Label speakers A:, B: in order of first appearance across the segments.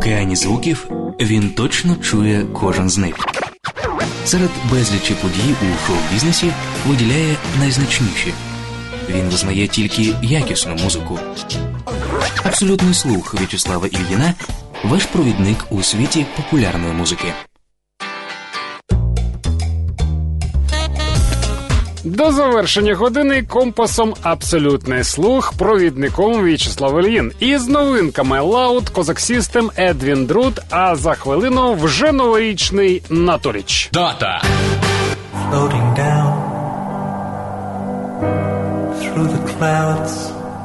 A: океані звуків він точно чує кожен з них. Серед безлічі подій у шоу-бізнесі виділяє найзначніші. Він визнає тільки якісну музику. Абсолютний слух В'ячеслава Ільїна – ваш провідник у світі популярної музики.
B: До завершення години компасом «Абсолютний слух» провідником В'ячеслав Ільїн. Із новинками Loud, Cossack System, Едвін Друд, а за хвилину вже новорічний Наторіч.
A: Дата!
C: Floating down through the clouds,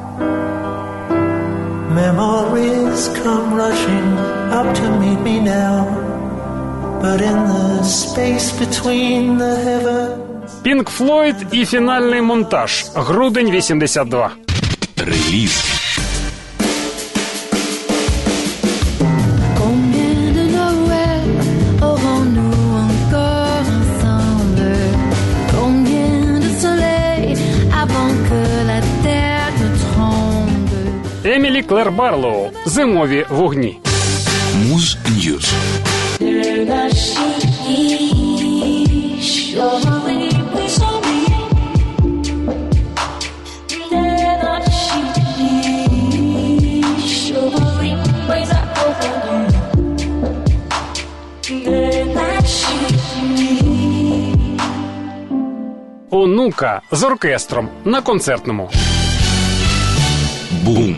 C: memories come rushing up to meet me now, but in the space between the heavens.
B: Пінк Флойд і фінальний монтаж. Грудень 82.
A: Реліз.
B: Емілі Клер Барлоу. Зимові вогні.
A: Муз Ньюз.
B: Онука з оркестром на концертному.
A: Бум.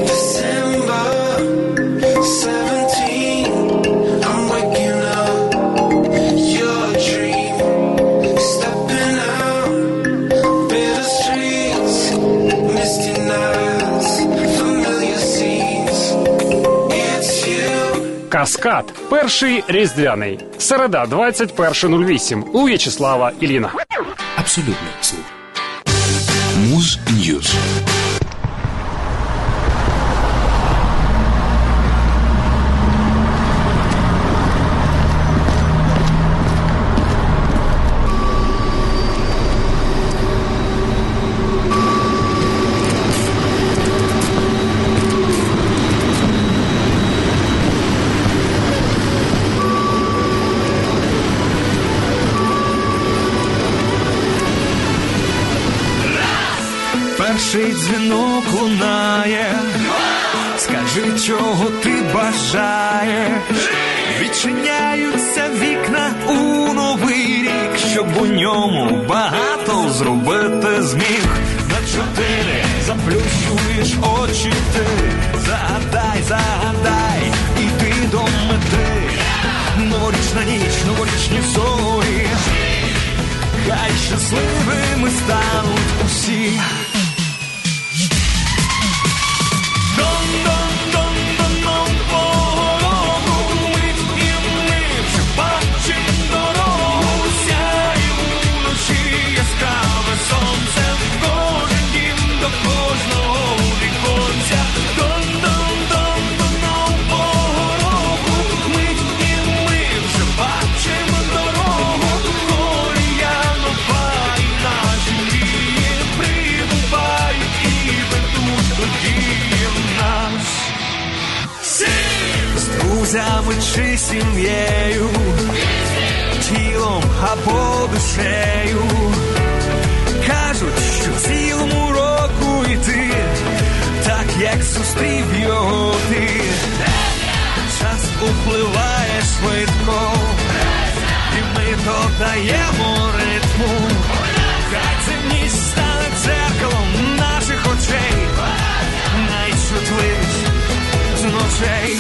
B: Каскад. Перший різдвяний. Середа, 21.08. У В'ячеслава Ільїна.
A: Абсолютний слух. Муз Ньюз.
D: Перший дзвінок лунає, скажи, чого ти бажаєш. Відчиняються вікна у новий рік, щоб у ньому багато зробити зміг. На 4 заплющуєш очі ти, загадай, загадай, іди до мети. Новорічна ніч, новорічні зорі, хай щасливими стануть усі. Друзями чи сім'єю, тілом або душею. Кажуть, що цілому року йти, так як зустрів його ти. Час upливає швидко, і ми додаємо ритму. Хай ця ніч стане дзеркалом наших очей, найчутливіш з ночей.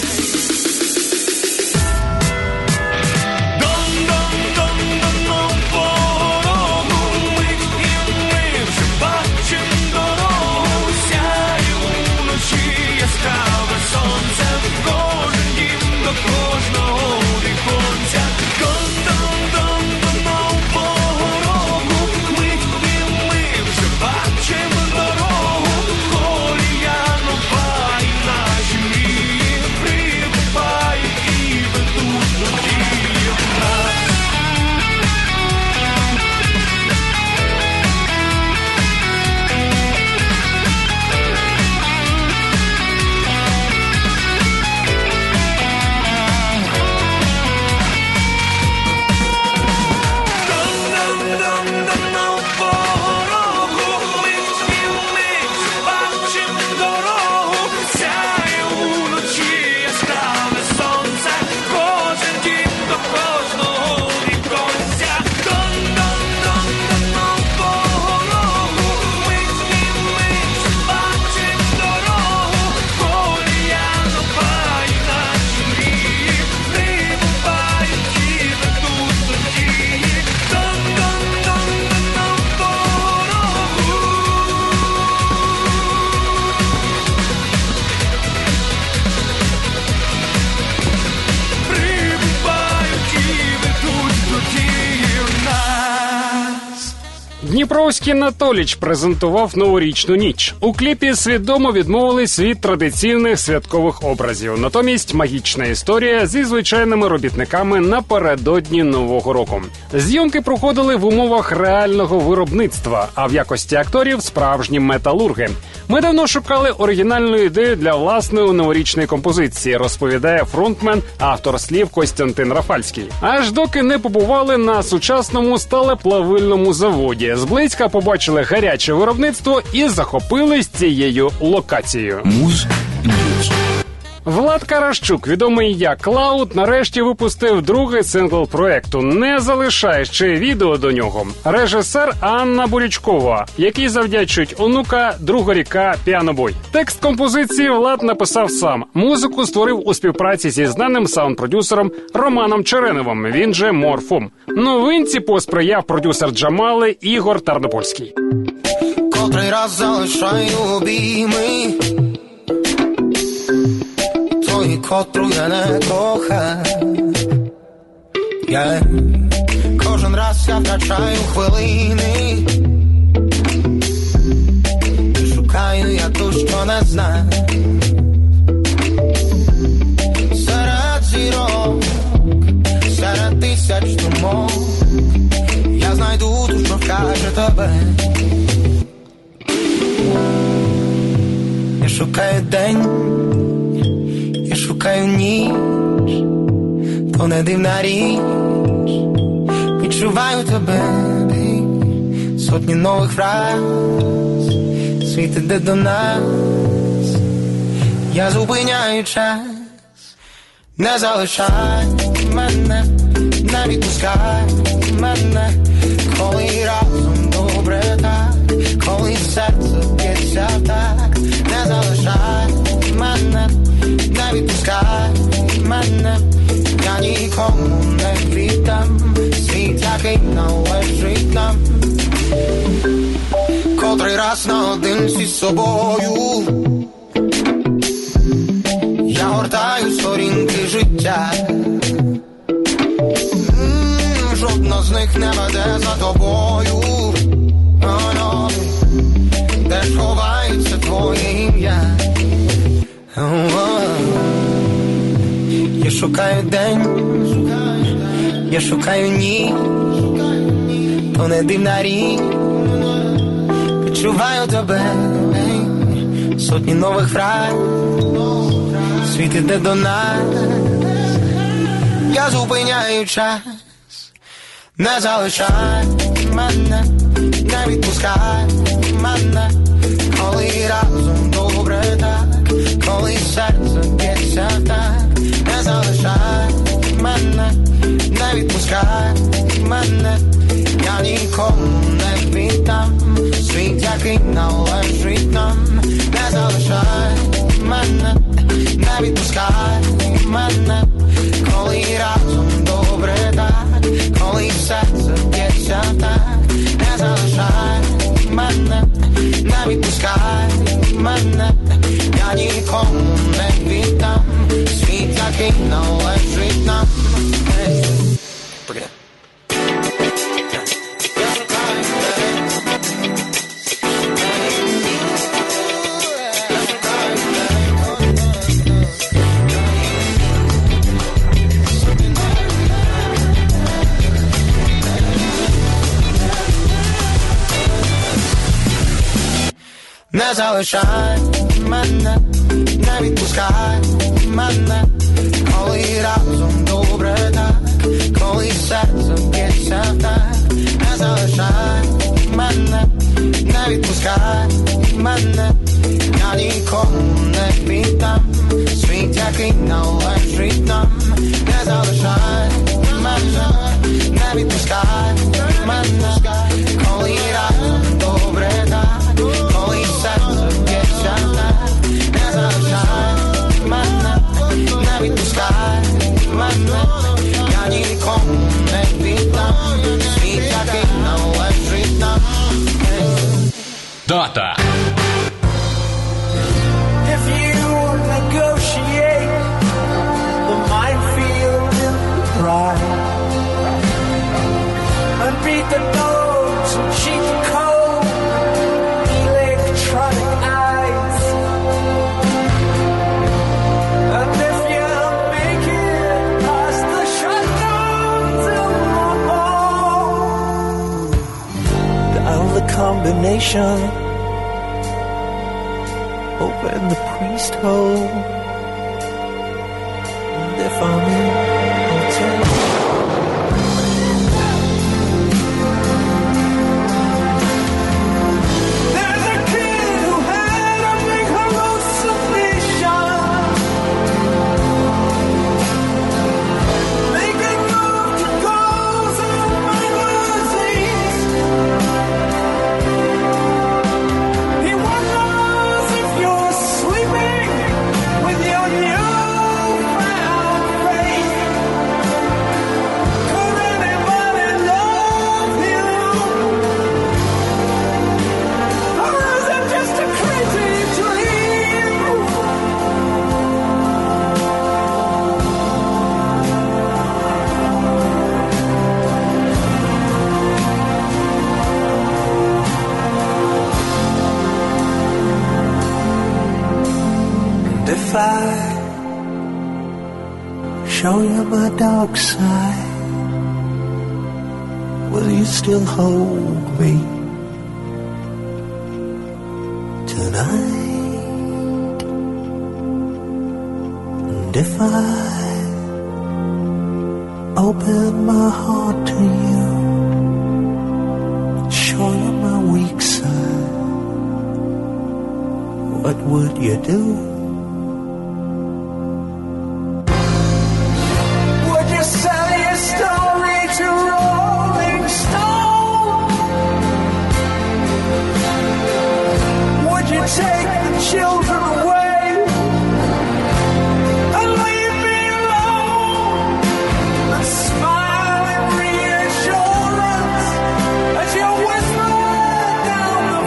B: Дніпровський Анатоліч презентував новорічну ніч. У кліпі свідомо відмовились від традиційних святкових образів. Натомість магічна історія зі звичайними робітниками напередодні Нового року. Зйомки проходили в умовах реального виробництва, а в якості акторів справжні металурги. Ми давно шукали оригінальну ідею для власної новорічної композиції, розповідає фронтмен, автор слів Костянтин Рафальський. Аж доки не побували на сучасному сталеплавильному заводі. Зблизька побачили гаряче виробництво і захопились цією локацією.
A: Муз-Ньюз.
B: Влад Каращук, відомий як Лаут, нарешті випустив другий сингл проекту. Не залишає ще відео до нього. Режисер Анна Бурячкова, який завдячують онука «Друга ріка. Піанобой». Текст композиції Влад написав сам. Музику створив у співпраці зі знаним саунд-продюсером Романом Череновим, він же Морфом. Новинці посприяв продюсер Джамали Ігор Тарнопольський.
E: Котрий раз залишаю обійми тої, котру я не кохав. Кожен раз я втрачаю хвилини і шукаю я ту, що не знаю. Серед зірок, серед тисяч думок я знайду ту, що вкаже тебе. Я шукаю день, я шукаю ніч, то не дивна річ, відчуваю тебе, сотні нових фраз, світ іде до нас, я зупиняю час, не залишай мене, не відпускай мене, коли разом добре так, коли серце б'ється так, не залишай мене, не відпускай мене, я нікому не віддам світ, який належить нам. Котрий раз наодинці з собою я гортаю сторінки життя, жодна з них не веде за тобою, де ж ховається твоє ім'я. Я шукаю день, я шукаю ніч, то не дивна річ, відчуваю тебе, сотні нових фраз, світ іде до нас, я зупиняю час, не залишай мене, не відпускай мене, коли разом добре так, коли серце б'ється так, не залишай мене, не відпускай мене, я нікому не віддам світ, який належить нам, не залишай мене, не відпускай мене, коли разом добре так, коли серце б'ється так, не залишай мене, не відпускай мене, я нікому не віддам світ, який належить нам. Не залишай мене, не відпускай мене, коли разом добре так, коли серце б'ється так, не залишай мене, не відпускай мене, я нікому не віддам світ, який належить нам, не залишай мене, не відпускай мене, коли разом добре так, коли серце б'ється так, не залишай мене, не відпускай мене, я нікому не віддам світ, який належить нам.
A: Дата.
D: If you negotiate the minefield in pride and beat the notes lungs and cheap cold electronic eyes. And if you make it past the shutdown till morning, dial the combination, open the priest hole. And if I'm in hotel, there's a kid who had a big hallucination, making love to girls in magazines. He wonders if you're sleeping with your newfound faith. Could anybody love you? Or is it just a crazy dream? And if I show you my dark side, will you still hold me tonight? And if I open my heart to you, show you my weak side, what would you do? Would you sell your story to Rolling Stone? Would you take the children away and leave me alone and smile in reassurance as you whisper down the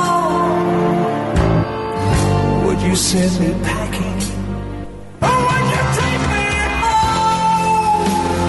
D: phone? Would you send me packing? Or would you take me home?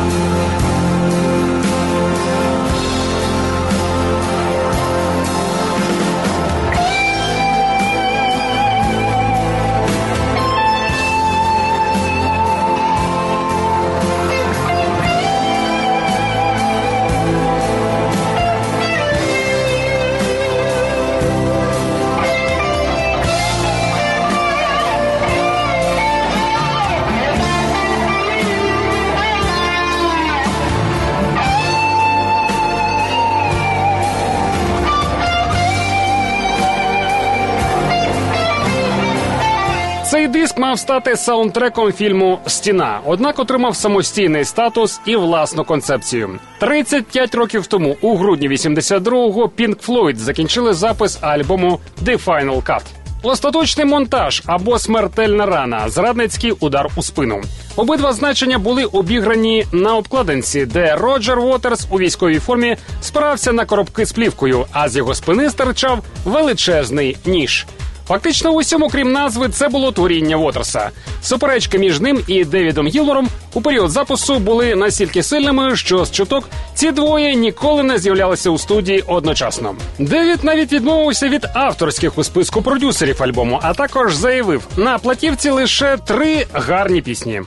B: Цей диск мав стати саундтреком фільму «Стіна», однак отримав самостійний статус і власну концепцію. 35 років тому, у грудні 82-го, Pink Floyd закінчили запис альбому «The Final Cut». Остаточний монтаж або смертельна рана, зрадницький удар у спину. Обидва значення були обіграні на обкладинці, де Роджер Уотерс у військовій формі спирався на коробки з плівкою, а з його спини стирчав величезний ніж. Фактично в усьому, крім назви, це було творіння Уотерса. Суперечки між ним і Девідом Гілмором у період запису були настільки сильними, що з чуток ці двоє ніколи не з'являлися у студії одночасно. Девід навіть відмовився від авторських у списку продюсерів альбому, а також заявив, на платівці лише 3 гарні пісні.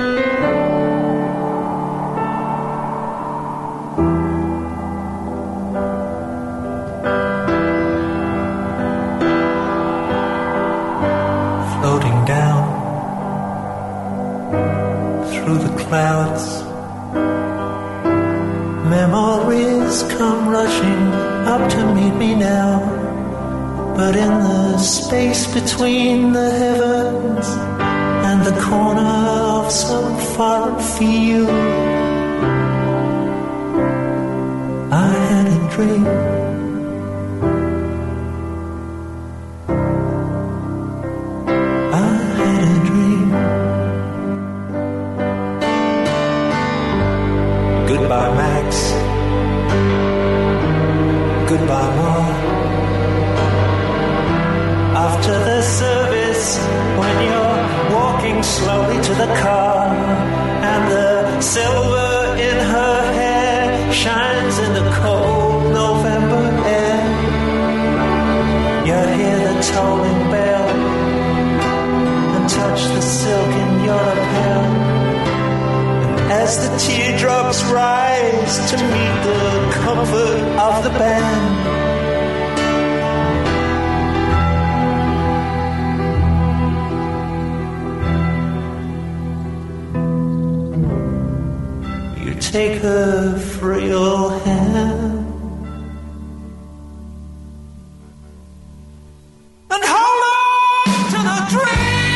C: Floating down through the clouds, memories come rushing up to meet me now. But in the space between the heavens and the corner of some far field, I had a dream. Goodbye, Max. Goodbye, Mom. After the service, when you're walking slowly to the car, and the silver in her hair shines in the cold November as the teardrops rise to meet the comfort of the band. You take her frail hand and hold on to the dream.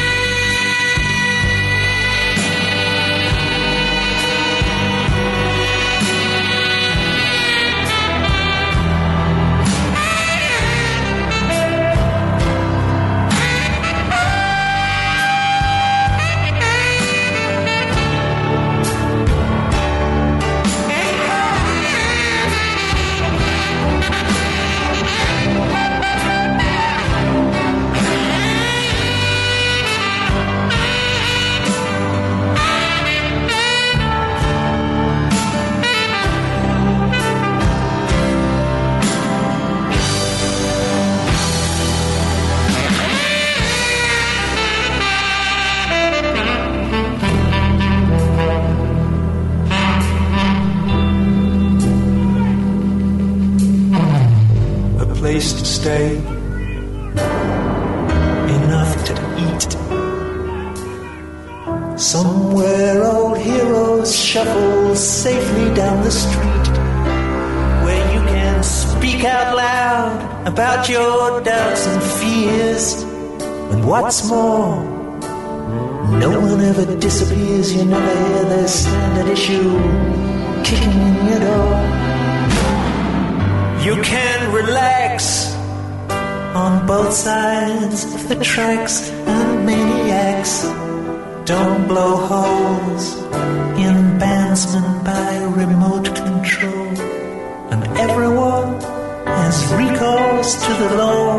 C: Place to stay, enough to eat. Somewhere old heroes shuffle safely down the street, where you can speak out loud about your doubts and fears. And what's more, no one ever disappears. You never hear their standard issue kicking in your door. You can relax on both sides of the tracks, and maniacs don't blow holes in bandsmen by remote control. And everyone has recourse to the law.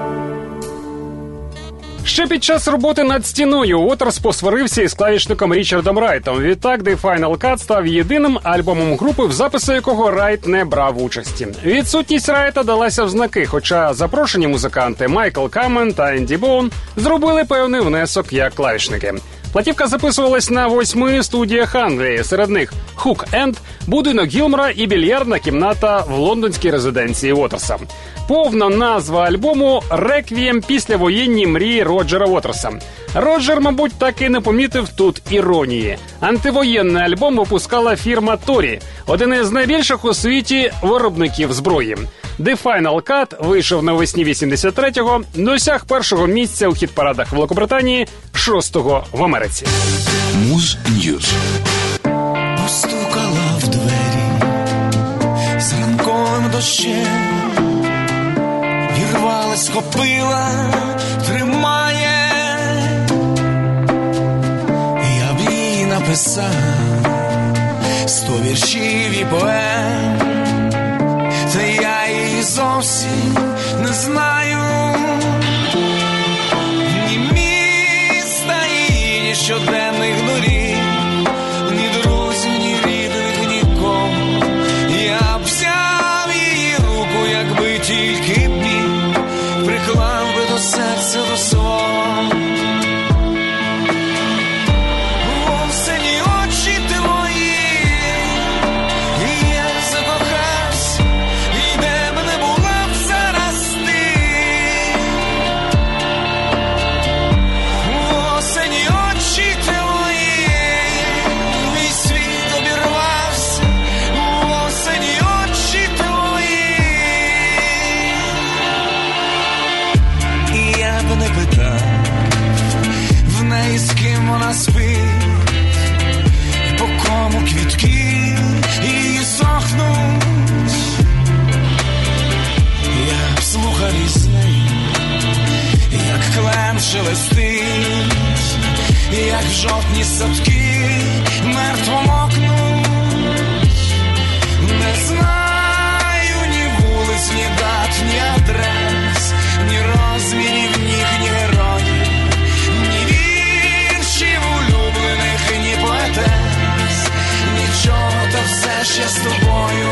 B: Ще під час роботи над «Стіною» Уотерс посварився із клавішником Річардом Райтом. Відтак The Final Cut став єдиним альбомом групи, в записі якого Райт не брав участі. Відсутність Райта далася в знаки, хоча запрошені музиканти Майкл Камен та Енді Боун зробили певний внесок як клавішники. Платівка записувалась на 8 студіях Англії, серед них Хук-Енд, будинок Гілмора і більярдна кімната в лондонській резиденції Уотерса. Повна назва альбому «Реквієм післявоєнні мрії Роджера Уотерса». Роджер, мабуть, так і не помітив тут іронії. Антивоєнний альбом випускала фірма Торі, один із найбільших у світі виробників зброї. The Final Cut вийшов навесні 83-го, досяг першого місця у хіт-парадах Великобританії, 6-го в Америці.
A: Муз Ньюз.
E: Постукала в двері з ранковим дощем, вірвалась, схопила, тримає. Я б їй написав 100 віршів і поем, та я її зовсім не знаю. Ні міста її, ні щоденних доріг, ні друзів, ні рідних, нікому. Я б взяв її руку, якби тільки міг, приклав би до серця до свого. Осені очі твої, і я закохався, і де б не була б зараз ти. Осені очі твої, мій світ обірвався. Осені очі твої. І я б не питав в неї, з ким вона спить, по кому квітки її сохнуть. Я б слухав із нею, як клен шелестить, як жовтні садки мертво мокнуть. Не знаю ні вулиць, ні дат, ні адрес, ні розмірів ніг, ні героїв, ні віршів улюблених, ні поетес, нічого, та все ще з тобою.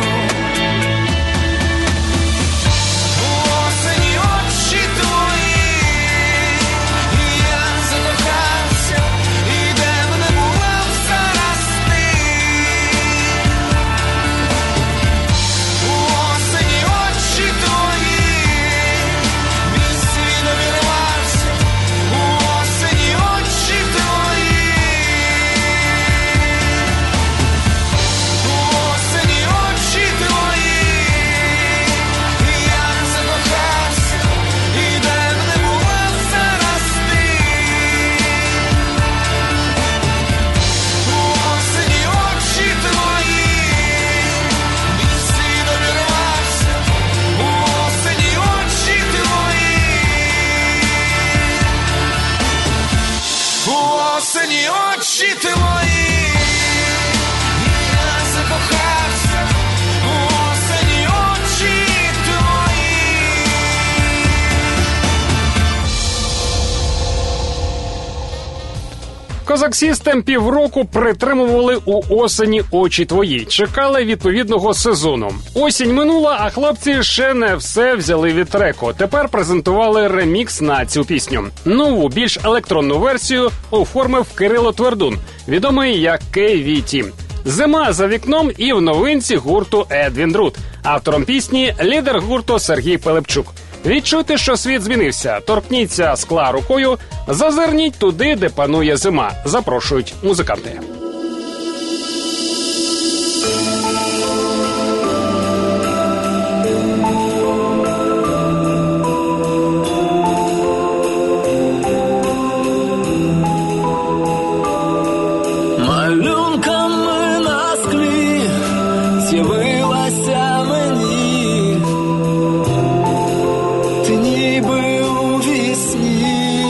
E: Осені очі твої, і я закохався, і де б не була б зараз ти.
B: Козак Сістем півроку притримували у осені очі твої. Чекали відповідного сезону. Осінь минула, а хлопці ще не все взяли від треку. Тепер презентували ремікс на цю пісню. Нову, більш електронну версію оформив Кирило Твердун, відомий як KVT. Зима за вікном і в новинці гурту Едвін Друд. Автором пісні – лідер гурту Сергій Пилипчук. Відчуйте, що світ змінився. Торкніться скла рукою, зазирніть туди, де панує зима. Запрошують музиканти.
E: Малюнками на склі з'явилася мені, ти ніби у вісні.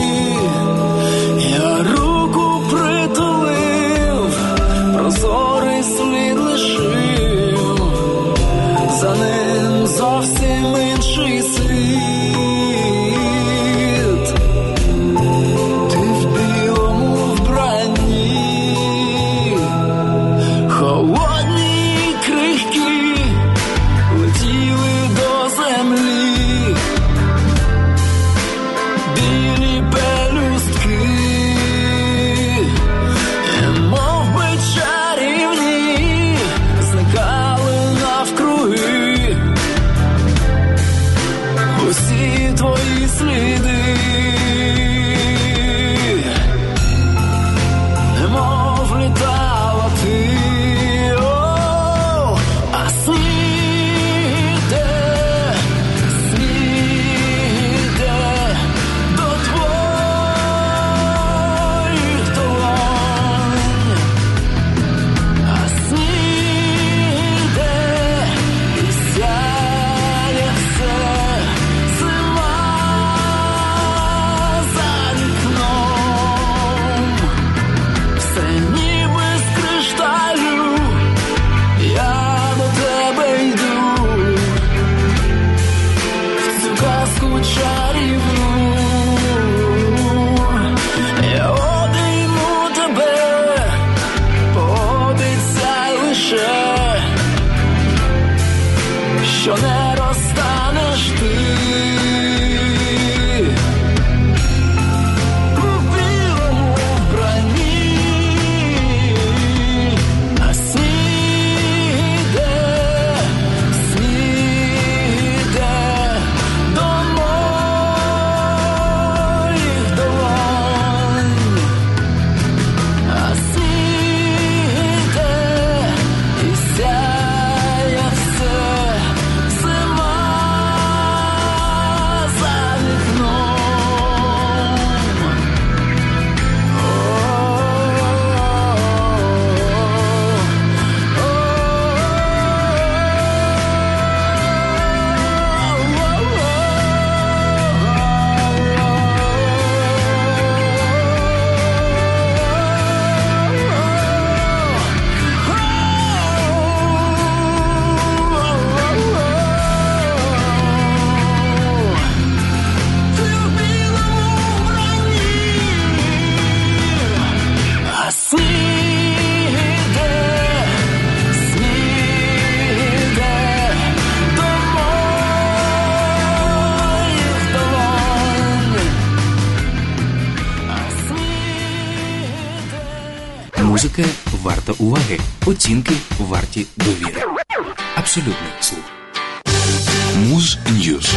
E: Я руку притулив, прозорий слід лишив, за ним зовсім інший світ. Ти в білому вбранні, холодні й крихкі летіли до землі, білі пелюстки, мов би чарівні, зникали навкруги усі твої сліди, немов літала ти. А сніг іде до твоїх долонь. А сніг іде і сяє все, зима за вікном. Все ніби з кришталю, я до тебе йду, в цю казку чарівну. Я обійму тебе, пообіцяй лише, що не розстанеш ти. У білому вбранні, а сніг іде до моїх долонь. А сніг іде і сяє все, зима за вікном. Ти в білому вбранні, а сніг іде до моїх долонь. А сніг іде.
A: Музика варта уваги, оцінки варті довіри. Абсолютний слух. Муз Ньюз.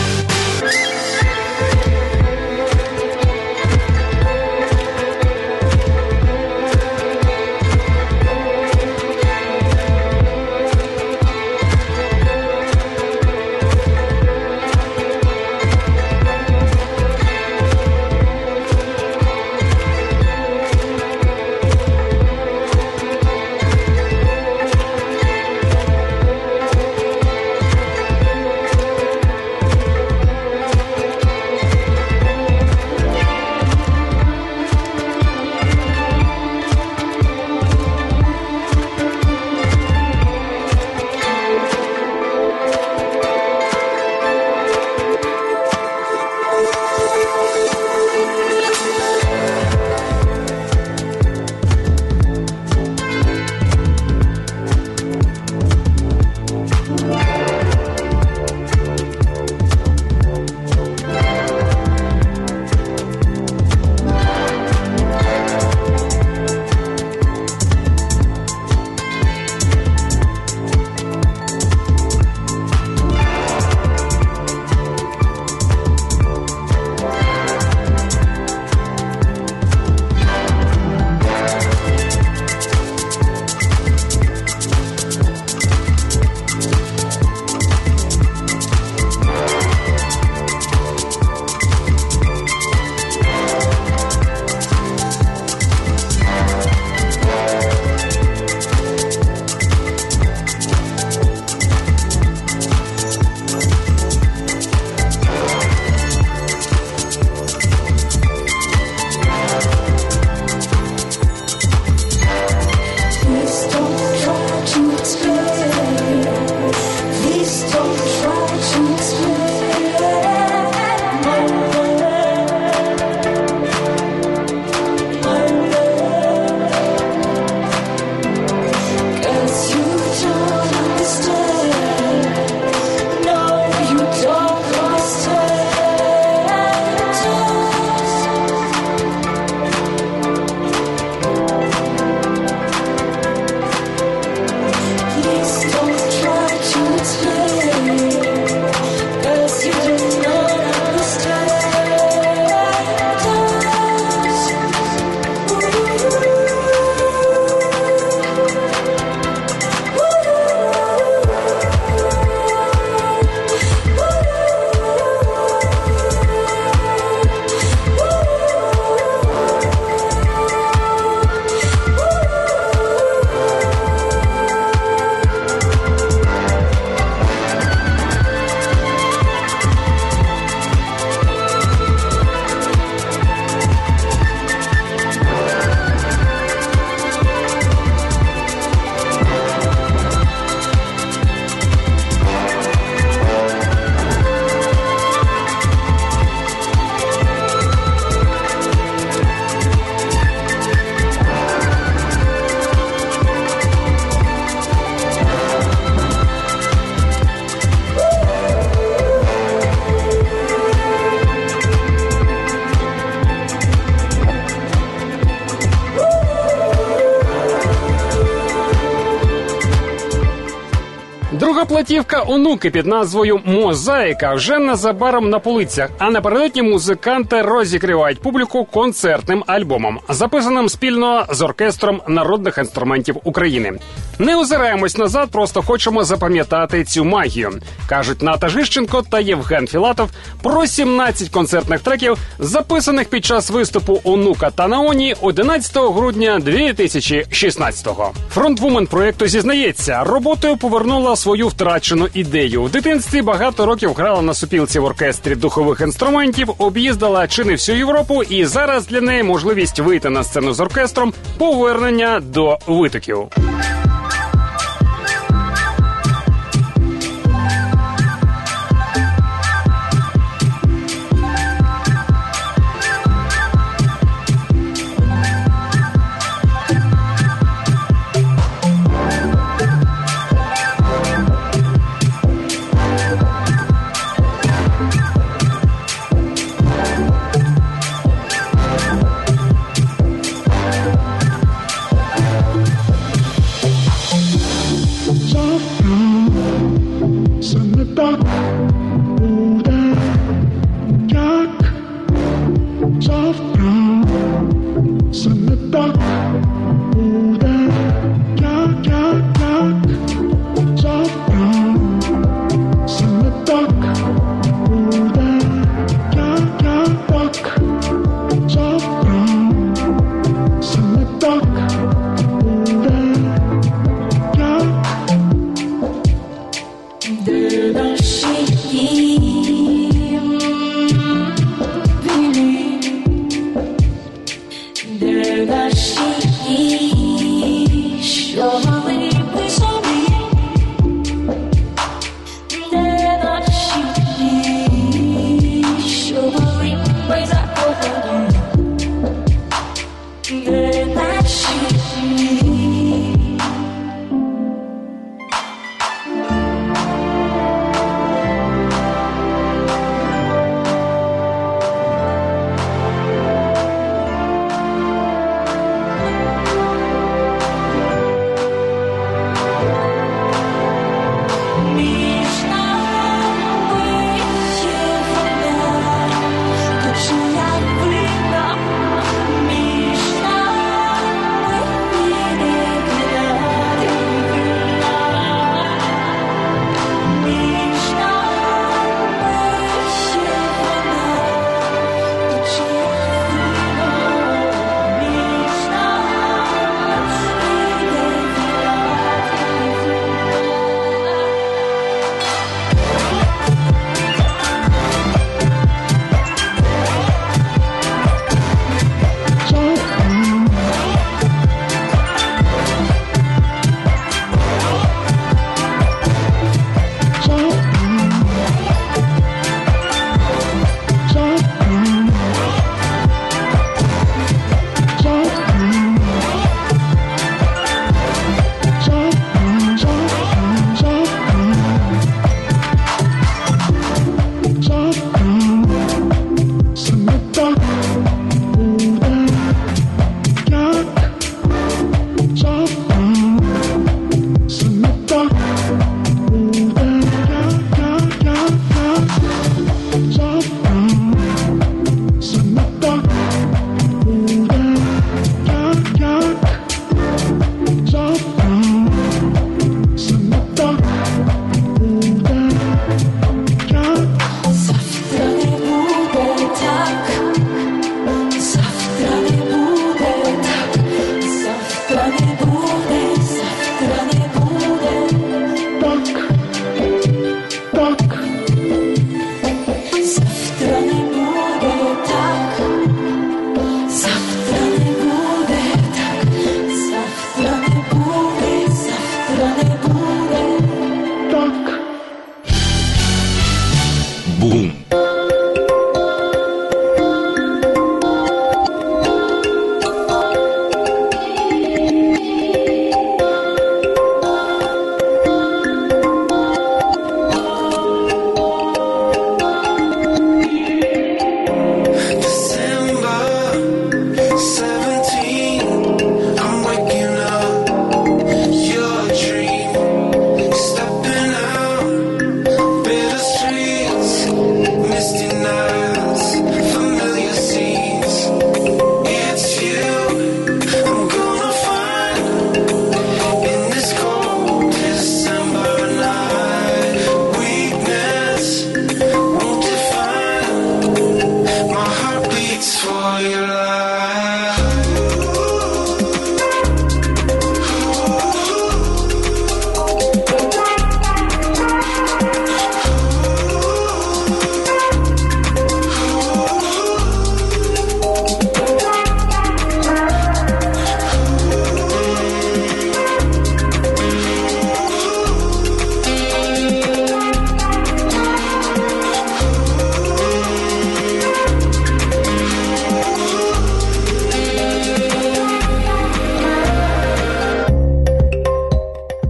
B: Друга платівка «Онуки» під назвою «Мозаїка» вже незабаром на полицях, а напередодні музиканти розігрівають публіку концертним альбомом, записаним спільно з оркестром народних інструментів України. Не озираємось назад, просто хочемо запам'ятати цю магію, кажуть Ната Жищенко та Євген Філатов про 17 концертних треків, записаних під час виступу «Онука» та «Наоні» 11 грудня 2016-го. Фронтвумен проєкту зізнається, роботою повернула свою втрачену ідею. В дитинстві багато років грала на сопілці в оркестрі духових інструментів, об'їздила чи не всю Європу, і зараз для неї можливість вийти на сцену з оркестром – повернення до витоків.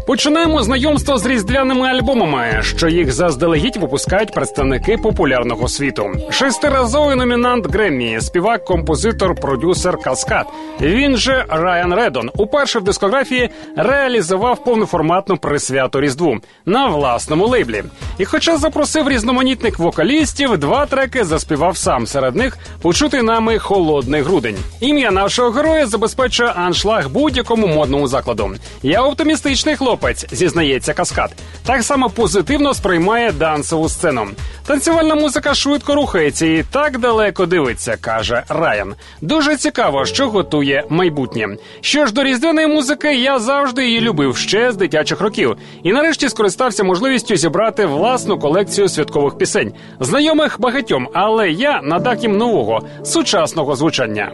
B: Починаємо знайомство з різдвяними альбомами, що їх заздалегідь випускають представники популярного світу. 6-разовий номінант Греммі, співак, композитор, продюсер Каскад. Він же Райан Реддон уперше в дискографії реалізував повноформатну присвяту Різдву на власному лейблі. І хоча запросив різноманітних вокалістів, 2 треки заспівав сам. Серед них почутий нами «Холодний грудень». Ім'я нашого героя забезпечує аншлаг будь-якому модному закладу. Я оптимістичний хлопець, зізнається Каскад. Так само позитивно сприймає дансову сцену. Танцювальна музика швидко рухається і так далеко дивиться, каже Райан. Дуже цікаво, що готує майбутнє. Що ж до різдвяної музики, я завжди її любив ще з дитячих років. І нарешті скористався можливістю зібрати власну колекцію святкових пісень. Знайомих багатьом, але я надав їм нового, сучасного звучання.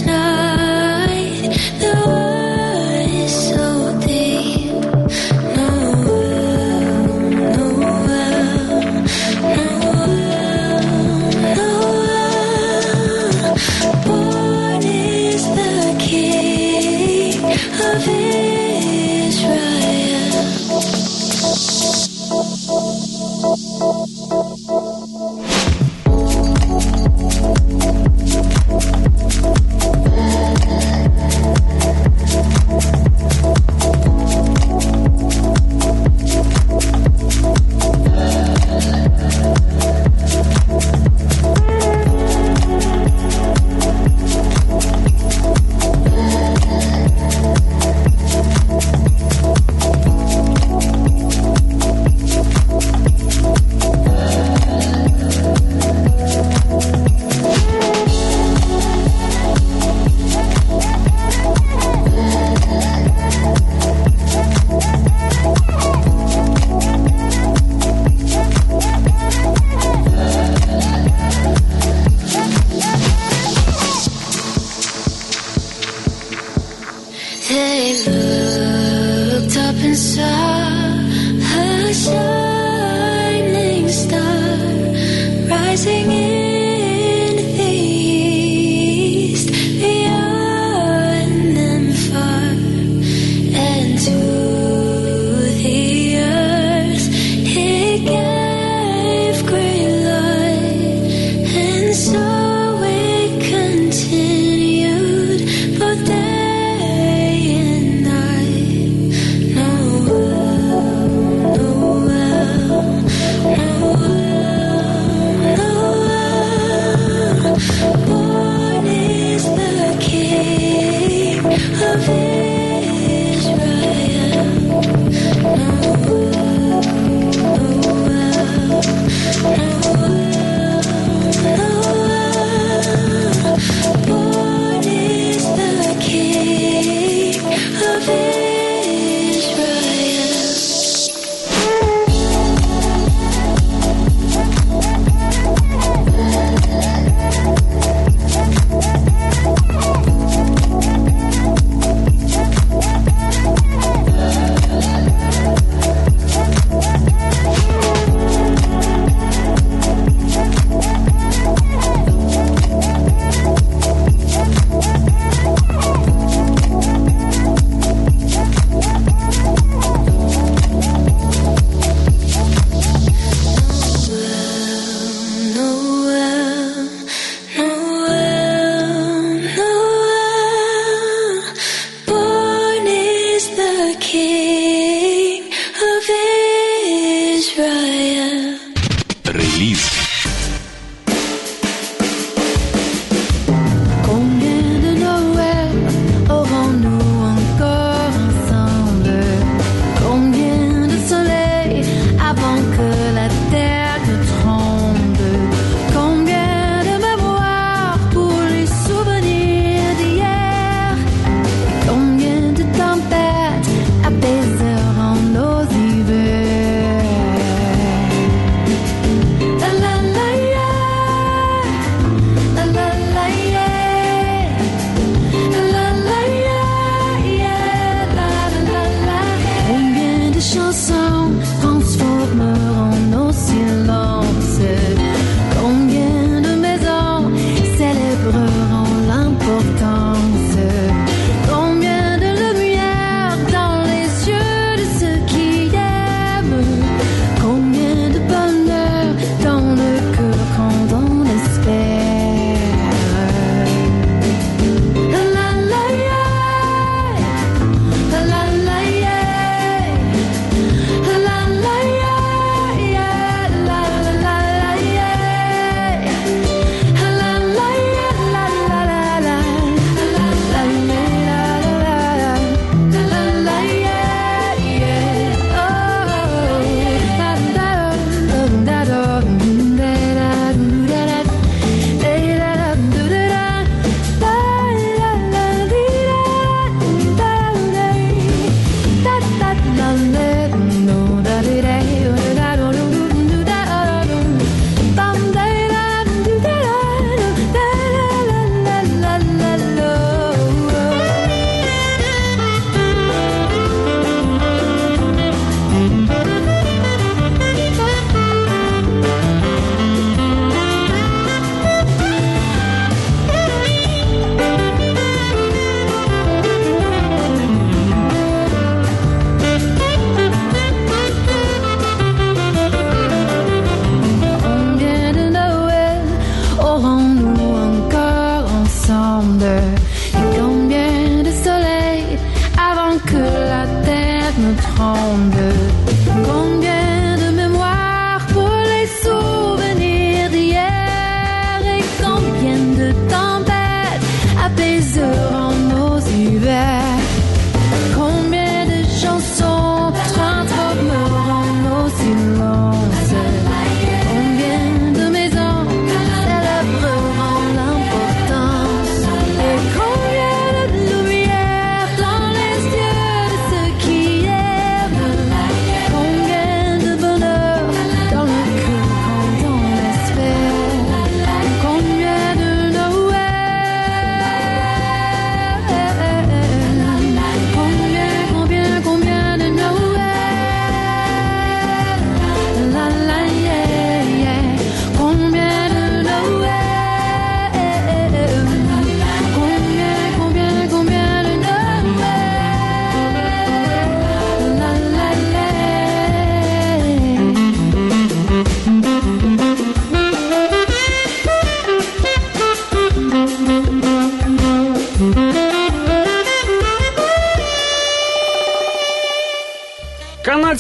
F: No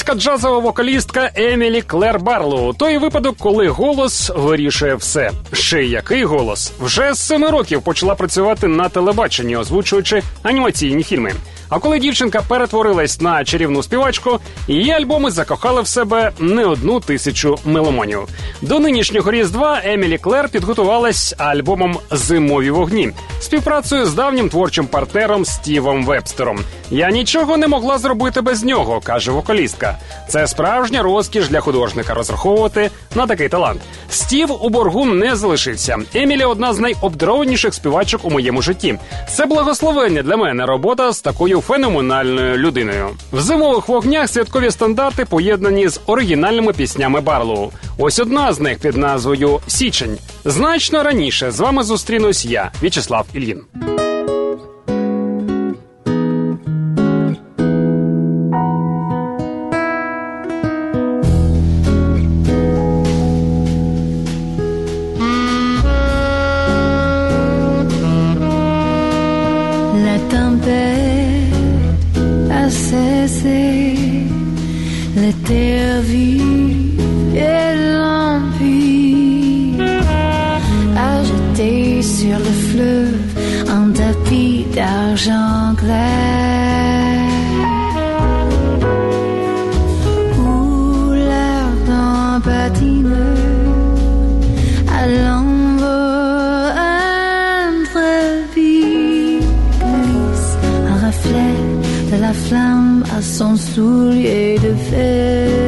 B: Канадська джазова вокалістка Емілі Клер Барлоу. Той випадок, коли голос вирішує все. Ще який голос? Вже з 7 років почала працювати на телебаченні, озвучуючи анімаційні фільми. А коли дівчинка перетворилась на чарівну співачку, її альбоми закохали в себе не 1000 меломанів. До нинішнього Різдва Емілі Клер підготувалась альбомом «Зимові вогні» співпрацею з давнім творчим партнером Стівом Вебстером. «Я нічого не могла зробити без нього», – каже вокалістка. Це справжня розкіш для художника розраховувати на такий талант. Стів у боргу не залишився. Емілі – одна з найобдарованіших співачок у моєму житті. Це благословення для мене робота з такою феноменальною людиною. В «Зимових вогнях» святкові стандарти поєднані з оригінальними піснями Барлоу. Ось одна з них під назвою «Січень». Значно раніше з вами зустрінусь я, В'ячеслав Ільїн.
F: La tempête a cessé, les terres vives et limpides a jeté sur le fleuve un tapis d'argent clair où l'ardent patineur à l'envol intrépide glisse un reflet de la flamme à son soulier de fer.